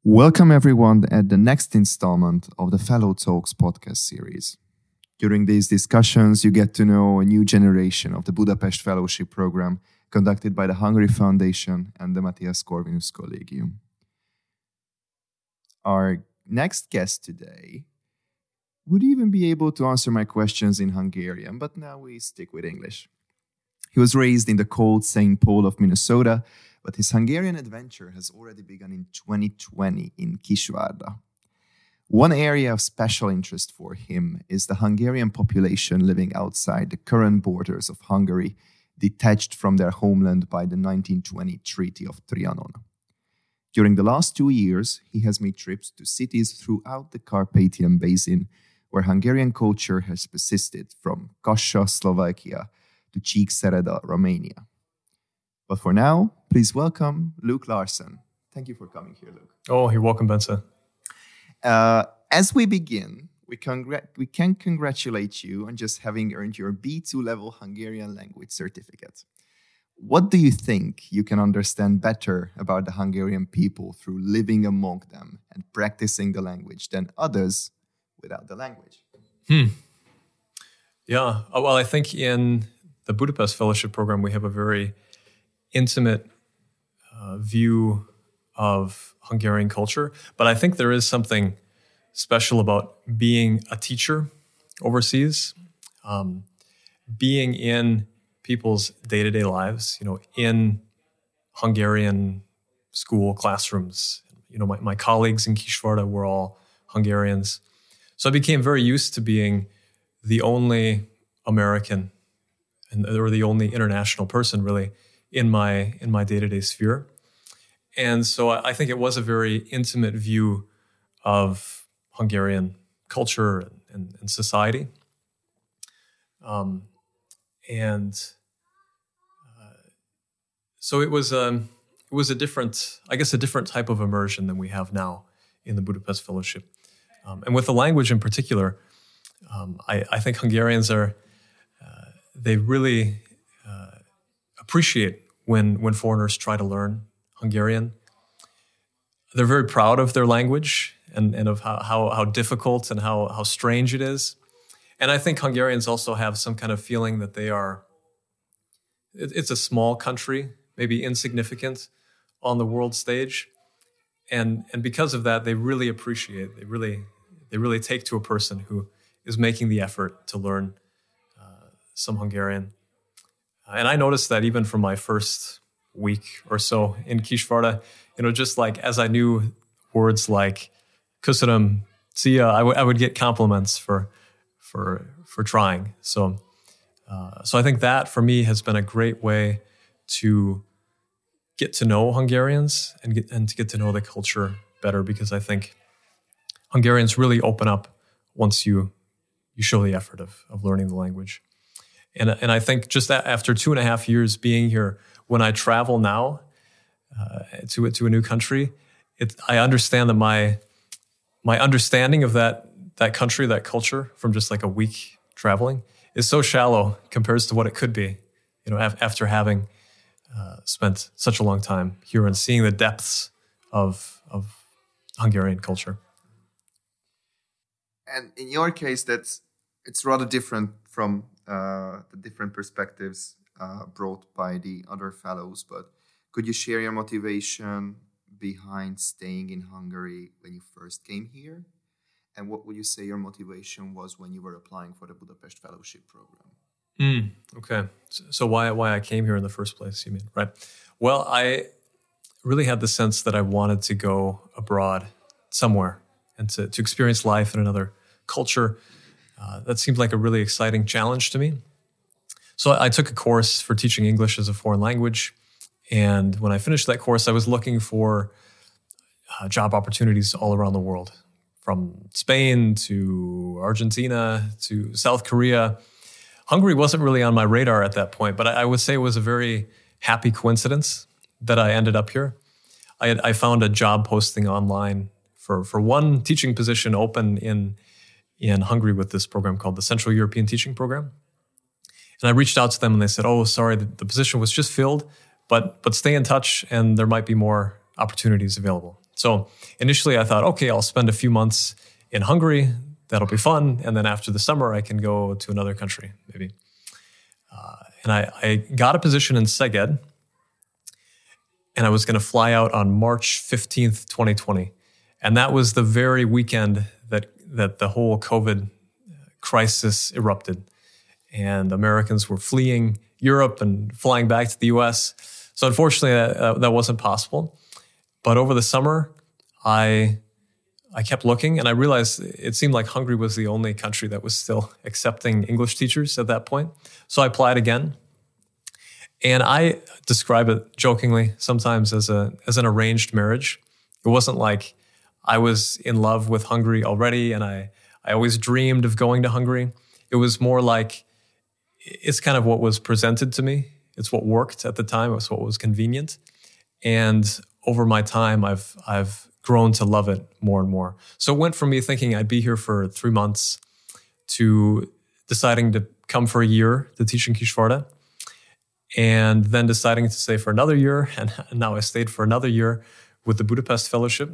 Welcome everyone at the next installment of the Fellow Talks podcast series. During these discussions, you get to know a new generation of the Budapest Fellowship Program conducted by the Hungary Foundation and the Matthias Corvinus Collegium. Our next guest today would even be able to answer my questions in Hungarian, but now we stick with English. He was raised in the cold St. Paul of Minnesota, but his Hungarian adventure has already begun in 2020 in Kisvárda. One area of special interest for him is the Hungarian population living outside the current borders of Hungary, detached from their homeland by the 1920 Treaty of Trianon. During the last 2 years, he has made trips to cities throughout the Carpathian Basin, where Hungarian culture has persisted, from Kassa, Slovakia, to Csíkszereda, Romania. But for now, please welcome Luke Larson. Thank you for coming here, Luke. Oh, you're welcome, Bence. As we begin, we can congratulate you on just having earned your B2 level Hungarian language certificate. What do you think you can understand better about the Hungarian people through living among them and practicing the language than others without the language? Yeah, well, I think in the Budapest Fellowship Program, we have a very intimate view of Hungarian culture. But I think there is something special about being a teacher overseas, being in people's day-to-day lives, in Hungarian school classrooms. My colleagues in Kisvárda were all Hungarians. So I became very used to being the only American or the only international person, really, in my day-to-day sphere. And so I think it was a very intimate view of Hungarian culture and society. So it was a different type of immersion than we have now in the Budapest Fellowship. And with the language in particular, I think Hungarians they really appreciate when foreigners try to learn Hungarian. They're very proud of their language and of how difficult and how strange it is. And I think Hungarians also have some kind of feeling that it's a small country, maybe insignificant on the world stage. And because of that, they really appreciate, they really take to a person who is making the effort to learn some Hungarian. And I noticed that even from my first week or so in Kisvárda, just like as I knew words like köszönöm, szia, I would get compliments for trying. So I think that for me has been a great way to get to know Hungarians and to get to know the culture better, because I think Hungarians really open up once you show the effort of learning the language. And I think just after 2.5 years being here, when I travel now to a new country, I understand that my understanding of that country, that culture, from just like a week traveling, is so shallow compared to what it could be, after having spent such a long time here and seeing the depths of Hungarian culture. And in your case, it's rather different from the different perspectives brought by the other fellows. But could you share your motivation behind staying in Hungary when you first came here? And what would you say your motivation was when you were applying for the Budapest Fellowship Program? Okay. So why I came here in the first place, you mean, right? Well, I really had the sense that I wanted to go abroad somewhere and to experience life in another culture. That seemed like a really exciting challenge to me. So I took a course for teaching English as a foreign language. And when I finished that course, I was looking for job opportunities all around the world, from Spain to Argentina to South Korea. Hungary wasn't really on my radar at that point, but I would say it was a very happy coincidence that I ended up here. I found a job posting online for one teaching position open in Hungary with this program called the Central European Teaching Program. And I reached out to them and they said, oh, sorry, the position was just filled, but stay in touch and there might be more opportunities available. So initially I thought, okay, I'll spend a few months in Hungary. That'll be fun. And then after the summer, I can go to another country, maybe. And I got a position in Szeged, and I was going to fly out on March 15th, 2020. And that was the very weekend that the whole COVID crisis erupted. And Americans were fleeing Europe and flying back to the US. So unfortunately, that wasn't possible. But over the summer, I kept looking, and I realized it seemed like Hungary was the only country that was still accepting English teachers at that point. So I applied again. And I describe it jokingly sometimes as an arranged marriage. It wasn't like I was in love with Hungary already and I always dreamed of going to Hungary. It was more like it's kind of what was presented to me. It's what worked at the time. It was what was convenient. And over my time, I've grown to love it more and more. So it went from me thinking I'd be here for 3 months to deciding to come for a year to teach in Kisvárda, and then deciding to stay for another year. And now I stayed for another year with the Budapest Fellowship.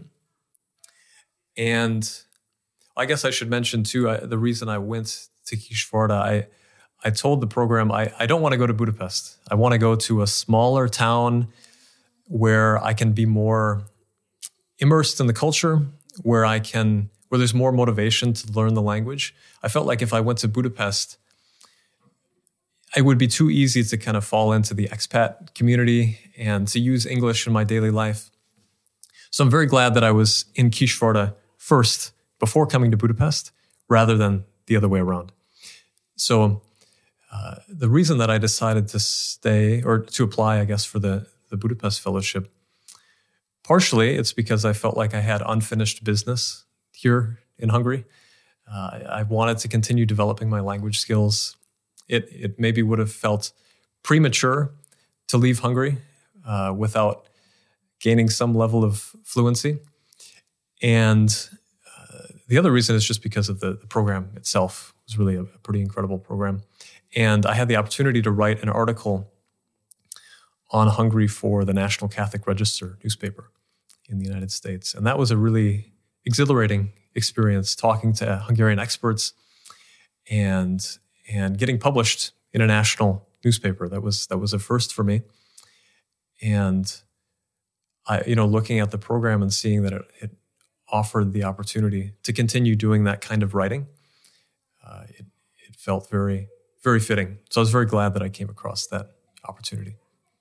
And I guess I should mention too, the reason I went to Kisvárda, I told the program, I don't want to go to Budapest. I want to go to a smaller town where I can be more immersed in the culture, where there's more motivation to learn the language. I felt like if I went to Budapest, it would be too easy to kind of fall into the expat community and to use English in my daily life. So I'm very glad that I was in Kisvárda first before coming to Budapest, rather than the other way around. So the reason that I decided to stay, or to apply, I guess, for the Budapest Fellowship, partially it's because I felt like I had unfinished business here in Hungary. I wanted to continue developing my language skills. It maybe would have felt premature to leave Hungary without gaining some level of fluency. And the other reason is just because of the program itself. It was really a pretty incredible program. And I had the opportunity to write an article on Hungary for the National Catholic Register newspaper in the United States. And that was a really exhilarating experience, talking to Hungarian experts and getting published in a national newspaper. That was a first for me. And looking at the program and seeing that it offered the opportunity to continue doing that kind of writing, it felt very, very fitting. So I was very glad that I came across that opportunity.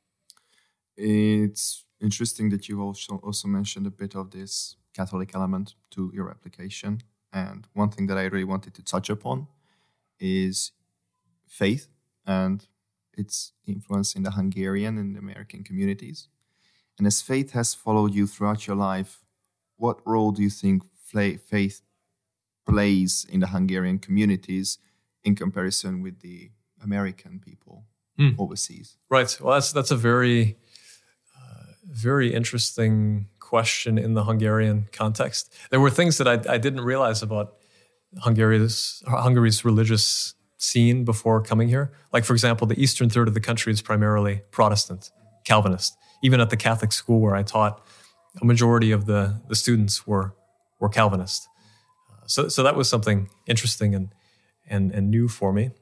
It's interesting that you also mentioned a bit of this Catholic element to your application. And one thing that I really wanted to touch upon is faith and its influence in the Hungarian and American communities. And as faith has followed you throughout your life, what role do you think faith plays in the Hungarian communities in comparison with the American people overseas? Right. Well, that's a very, very interesting question in the Hungarian context. There were things that I didn't realize about Hungary's religious scene before coming here. Like, for example, the eastern third of the country is primarily Protestant, Calvinist. Even at the Catholic school where I taught, a majority of the students were Calvinist. So that was something interesting and new for me.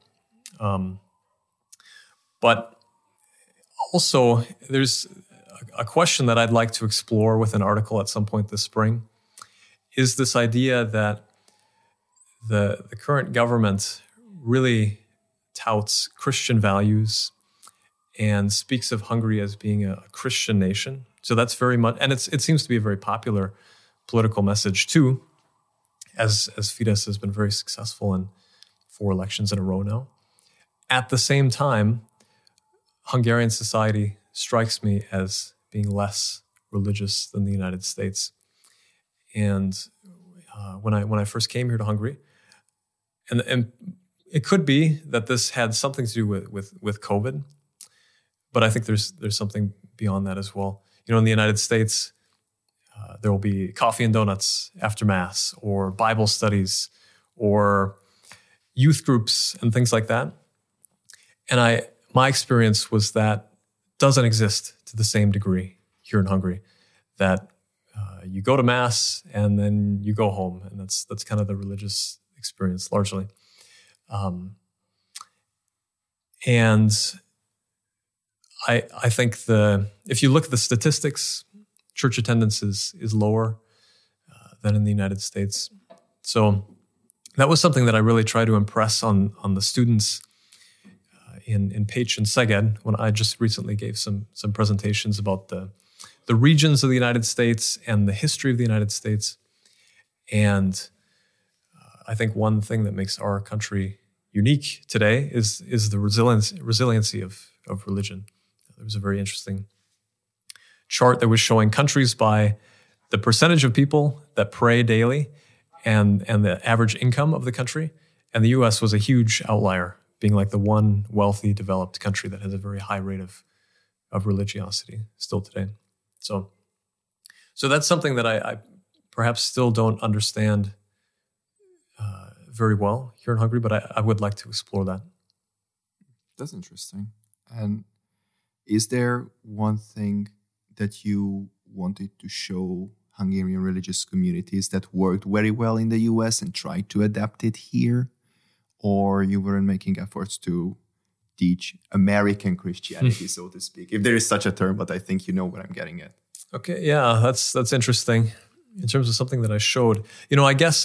But also, there's a question that I'd like to explore with an article at some point this spring, is this idea that the current government really touts Christian values and speaks of Hungary as being a Christian nation. So that's very much, and it seems to be a very popular political message too, as Fidesz has been very successful in 4 elections in a row now. At the same time, Hungarian society strikes me as being less religious than the United States. And when I first came here to Hungary, and it could be that this had something to do with COVID, but I think there's something beyond that as well. In the United States, there will be coffee and donuts after Mass, or Bible studies, or youth groups and things like that. And my experience was that doesn't exist to the same degree here in Hungary. That you go to mass and then you go home, and that's kind of the religious experience largely. And I think if you look at the statistics, church attendance is lower than in the United States. So that was something that I really try to impress on the students in Pécs and Szeged when I just recently gave some presentations about the regions of the United States and the history of the United States. And I think one thing that makes our country unique today is the resiliency of religion. There was a very interesting chart that was showing countries by the percentage of people that pray daily and the average income of the country. And the U.S. was a huge outlier, being like the one wealthy, developed country that has a very high rate of religiosity still today. So that's something that I perhaps still don't understand very well here in Hungary, but I would like to explore that. That's interesting. And is there one thing that you wanted to show Hungarian religious communities that worked very well in the US and tried to adapt it here? Or you weren't making efforts to teach American Christianity, so to speak, if there is such a term, but I think you know what I'm getting at. Okay, yeah, that's interesting. In terms of something that I showed, I guess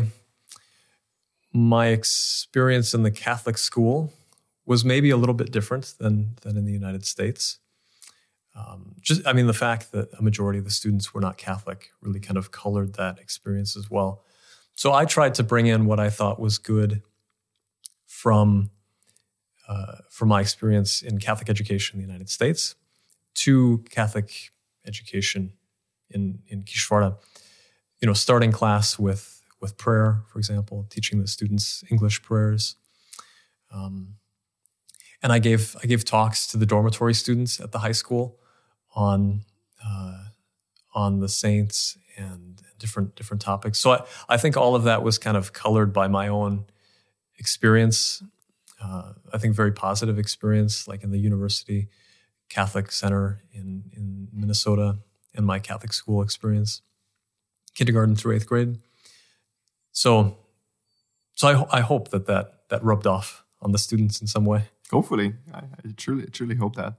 my experience in the Catholic school was maybe a little bit different than in the United States. The fact that a majority of the students were not Catholic really kind of colored that experience as well. So I tried to bring in what I thought was good from my experience in Catholic education in the United States to Catholic education in Kisvárda. Starting class with prayer, for example, teaching the students English prayers. And I gave talks to the dormitory students at the high school on the saints and different topics. So I think all of that was kind of colored by my own experience. I think very positive experience, like in the University Catholic Center in Minnesota, and my Catholic school experience, kindergarten through 8th grade. So I hope that rubbed off on the students in some way. Hopefully, I truly hope that.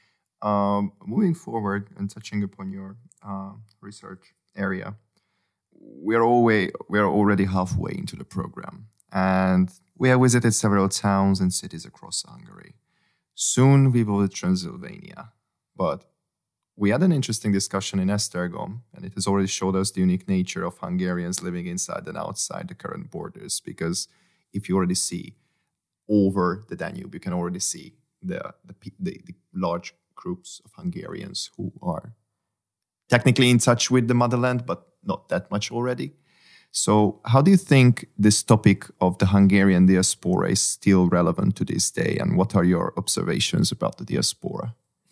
Moving forward and touching upon your research area, we're already halfway into the program, and we have visited several towns and cities across Hungary. Soon we will visit Transylvania, but we had an interesting discussion in Esztergom, and it has already showed us the unique nature of Hungarians living inside and outside the current borders, because if you already see over the Danube, you can already see the large groups of Hungarians who are technically in touch with the motherland, but not that much already. So how do you think this topic of the Hungarian diaspora is still relevant to this day, and what are your observations about the diaspora?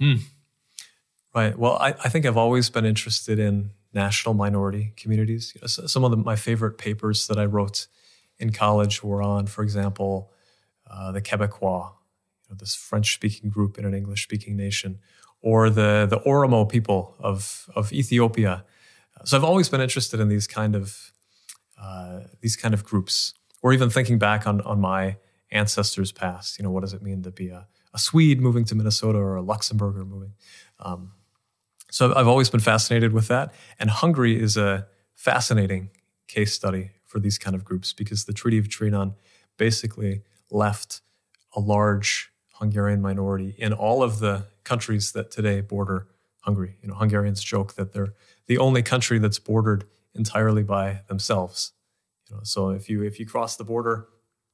Right. Well, I think I've always been interested in national minority communities. Some of my favorite papers that I wrote in college were on, for example, the Quebecois, this French-speaking group in an English-speaking nation, or the Oromo people of Ethiopia. So I've always been interested in these kind of groups, or even thinking back on my ancestors' past. What does it mean to be a Swede moving to Minnesota or a Luxembourger moving? So I've always been fascinated with that. And Hungary is a fascinating case study for these kind of groups, because the Treaty of Trianon basically left a large Hungarian minority in all of the countries that today border Hungary. Hungarians joke that they're the only country that's bordered entirely by themselves. So if you cross the border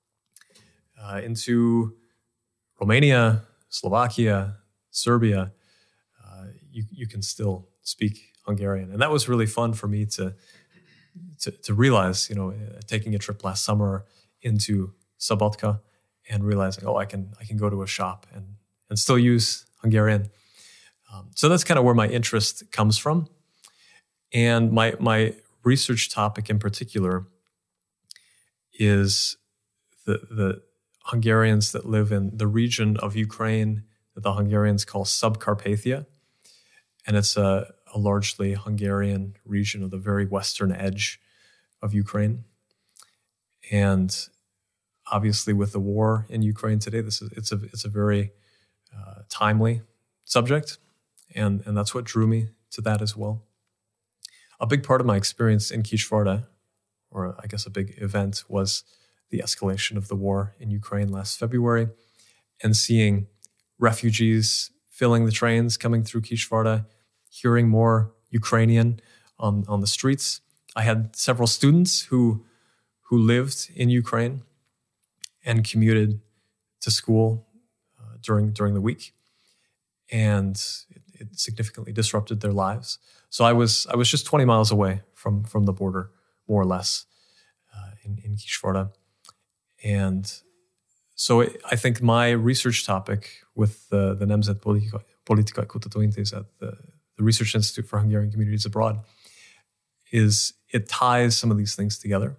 into Romania, Slovakia, Serbia, you can still speak Hungarian. And that was really fun for me to realize, taking a trip last summer into Szabadka and realizing, I can go to a shop and still use Hungarian. So that's kind of where my interest comes from. And my research topic in particular is the Hungarians that live in the region of Ukraine that the Hungarians call Subcarpathia. And it's a a largely Hungarian region of the very western edge of Ukraine. And obviously, with the war in Ukraine today, it's a very timely subject, and that's what drew me to that as well. A big part of my experience in Kisvárda, or I guess a big event, was the escalation of the war in Ukraine last February, and seeing refugees filling the trains coming through Kisvárda, hearing more Ukrainian on the streets. I had several students who lived in Ukraine and commuted to school during the week, and it significantly disrupted their lives. So I was just 20 miles away from the border, more or less, in Kisvárda. And so I think my research topic with the Nemzet Politikai Kutatóintézet, the Research Institute for Hungarian Communities Abroad, is it ties some of these things together.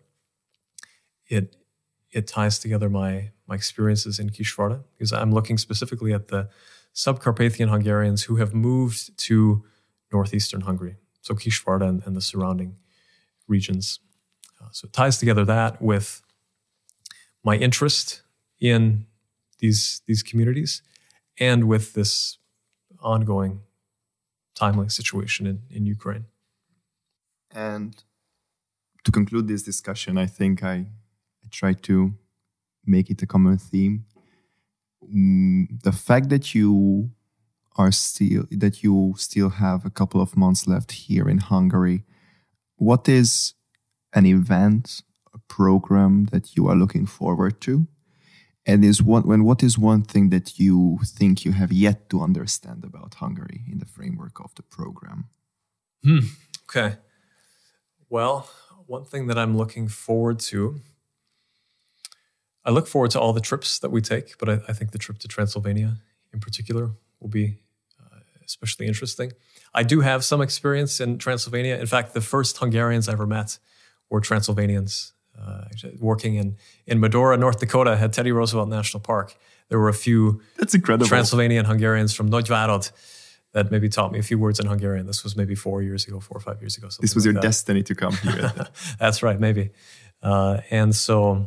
It ties together my experiences in Kisvárda, because I'm looking specifically at the Subcarpathian Hungarians who have moved to northeastern Hungary, so Kisvárda and the surrounding regions. So it ties together that with my interest in these communities and with this ongoing timely situation in Ukraine. And to conclude this discussion, I think I try to make it a common theme. The fact that you still have a couple of months left here in Hungary, what is an event, a program that you are looking forward to? And what is one thing that you think you have yet to understand about Hungary in the framework of the program? Okay. Well, one thing that I'm looking forward to, I look forward to all the trips that we take, but I think the trip to Transylvania in particular will be especially interesting. I do have some experience in Transylvania. In fact, the first Hungarians I ever met were Transylvanians. Working in Medora, North Dakota, at Teddy Roosevelt National Park. There were a few That's incredible. Transylvanian Hungarians from Nagyvárad that maybe taught me a few words in Hungarian. This was maybe 4 or 5 years ago. This was your destiny to come here. That's right, maybe. And so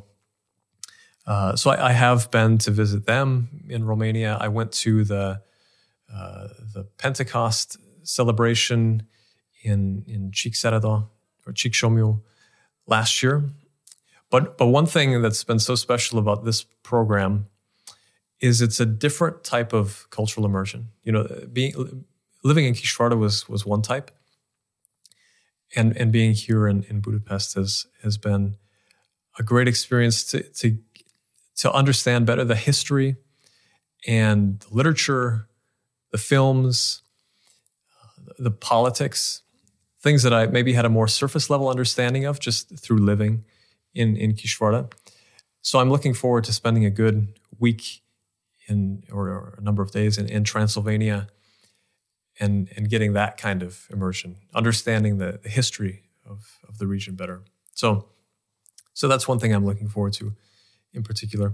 I have been to visit them in Romania. I went to the Pentecost celebration in Csíkszereda or Csíksomlyó last year. But one thing that's been so special about this program is it's a different type of cultural immersion. You know, living in Kisvárda was one type, and being here in Budapest has been a great experience to understand better the history and the literature, the films, the politics, things that I maybe had a more surface level understanding of just through living in Kisvárda. So I'm looking forward to spending a good week or a number of days in Transylvania and getting that kind of immersion, understanding the history of the region better. So that's one thing I'm looking forward to in particular.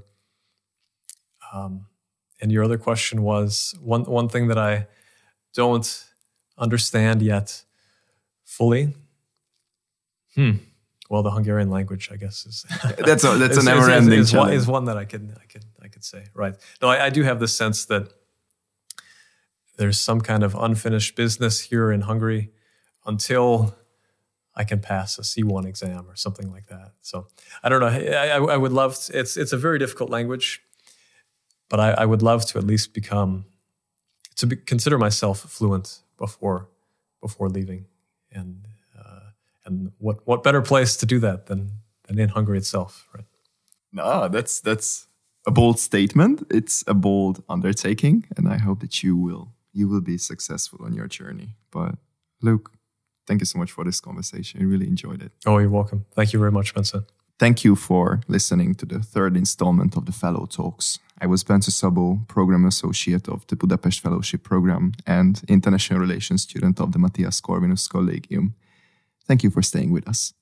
And your other question was one thing that I don't understand yet fully. Well, the Hungarian language, I guess, is that's a never-ending challenge. Is one that I could say, right? No, I do have the sense that there's some kind of unfinished business here in Hungary until I can pass a C1 exam or something like that. So I don't know. I would love to, it's a very difficult language, but I would love to at least consider myself fluent before leaving. And what better place to do that than in Hungary itself, right? No, that's a bold statement. It's a bold undertaking, and I hope that you will be successful on your journey. But Luke, thank you so much for this conversation. I really enjoyed it. Oh, you're welcome. Thank you very much, Bence. Thank you for listening to the third installment of the Fellow Talks. I was Bence Szabó, Program Associate of the Budapest Fellowship Program and International Relations student of the Matthias Corvinus Collegium. Thank you for staying with us.